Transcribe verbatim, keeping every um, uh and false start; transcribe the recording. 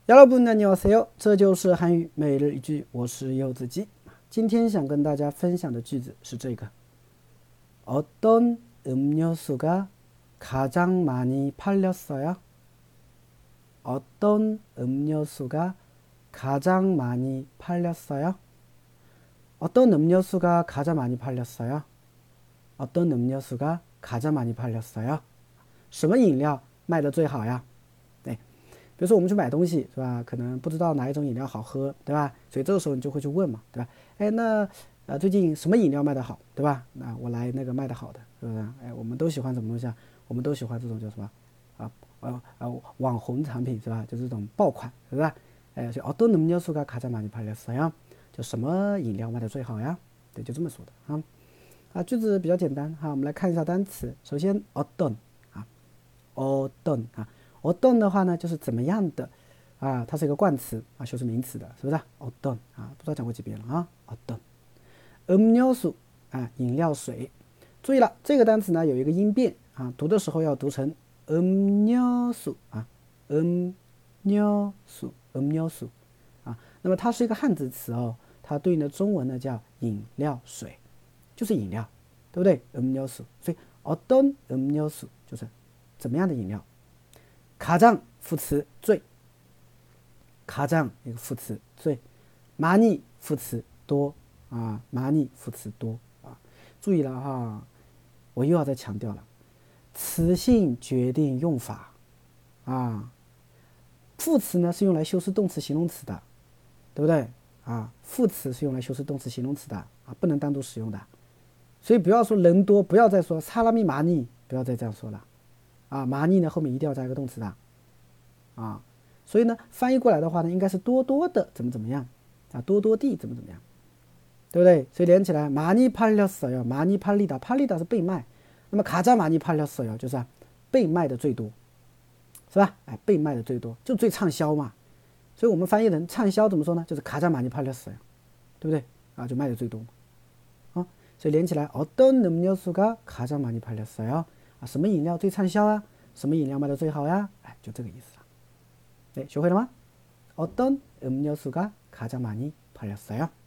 여러분 안녕하세요，这就是韩语每日一句，我是柚子鸡。今天想跟大家分享的句子是这个：어떤 음료수가 가장 많이 팔렸어요? 어떤 음료수가 가장 많이 팔렸어요? 어떤 음료수가 가장 많이 팔렸어요? 어떤 음료수가 가장 많이 팔렸어요? 什么饮料卖的最好呀？对，比如说我们去买东西是吧？可能不知道哪一种饮料好喝，对吧？所以这个时候你就会去问嘛，对吧？哎，那呃最近什么饮料卖的好，对吧？那我来那个卖的好的，是不是？哎，我们都喜欢什么东西啊？我们都喜欢这种叫什么啊？呃呃网红产品是吧？就是这种爆款，是吧？哎，所以어떤음료수가가장많이팔렸어요？就什么饮料卖的最好呀？对，就这么说的啊。啊，句子比较简单哈，我们来看一下单词。首先어떤啊，어떤啊，어떤的话呢，就是怎么样的啊，它是一个冠词啊，修饰名词的，是不是？어떤啊，不知道讲过几遍了啊。어떤 음료수啊，饮料水。注意了，这个单词呢有一个音变啊，读的时候要读成음료수啊，음료수 음료수啊。那么它是一个汉字词哦，它对应的中文呢叫饮料水。就是饮料，对不对？음료수，所以어떤 음료수就是怎么样的饮料。가장副词最，가장一个副词最，많이副词多啊，많이副词多啊。注意了哈，我又要再强调了，词性决定用法啊。副词呢是用来修饰动词、形容词的，对不对啊？副词是用来修饰动词、形容词的啊，不能单独使用的。所以不要说人多，不要再说사람이 많이，不要再这样说了，啊，많이呢后面一定要加一个动词的，啊，所以呢翻译过来的话呢，应该是多多的怎么怎么样，啊，多多地怎么怎么样，对不对？所以连起来많이팔렸어요，많이팔리다，팔리다是被卖，那么가장많이팔렸어요就是、啊、被卖的最多，是吧？哎，被卖的最多就最畅销嘛，所以我们翻译成畅销怎么说呢？就是가장많이팔렸어요，对不对？啊，就卖的最多嘛。所以连起来어떤 음료수가 가장 많이 팔렸어요？啊，什么饮料最畅销啊？什么饮料卖的最好呀？哎，就这个意思了。对，学会了吗？어떤 음료수가 가장 많이 팔렸어요？